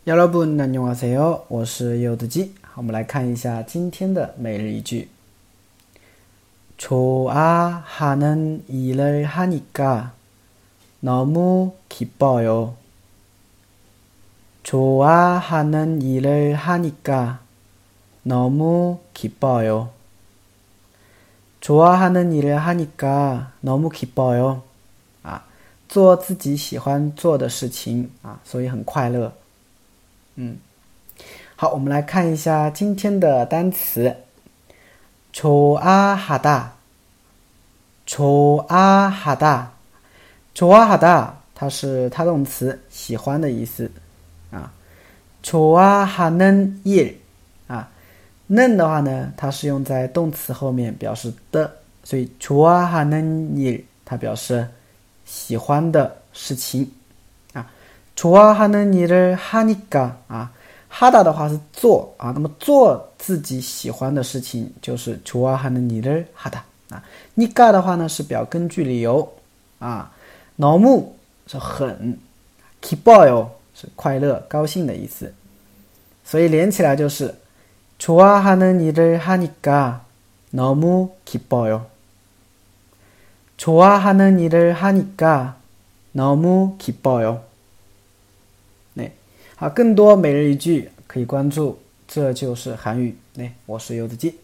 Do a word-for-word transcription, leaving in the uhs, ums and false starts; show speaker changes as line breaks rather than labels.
여러분 안녕하세요，我是柚子鸡。我们来看一下今天的每日一句。좋아하는 일을 하니까 너무 기뻐요. 좋아하는 일을 하니까 너무 기뻐요. 좋아하는 일을 하니까 너무 기뻐요. 啊，做自己喜欢做的事情啊，所以很快乐。嗯，好，我们来看一下今天的单词。좋아하다， 좋아하다， 좋아하다， 它是他动词，喜欢的意思啊。좋아하는 일啊，는的话呢，它是用在动词后面表示的，所以좋아하는 일它表示喜欢的事情。좋아하는 일을 하니까啊，하다的话是做啊，那么做自己喜欢的事情就是 좋아하는 일을 하다啊。니까的话呢是表根据理由啊，너무是很，기뻐요是快乐高兴的意思，所以连起来就是 좋아하는 일을 하니까 너무 기뻐요. 좋아하는 일을 하니까 너무 기뻐요. 好，更多每日一句可以关注这就是韩语。我是柚子鸡。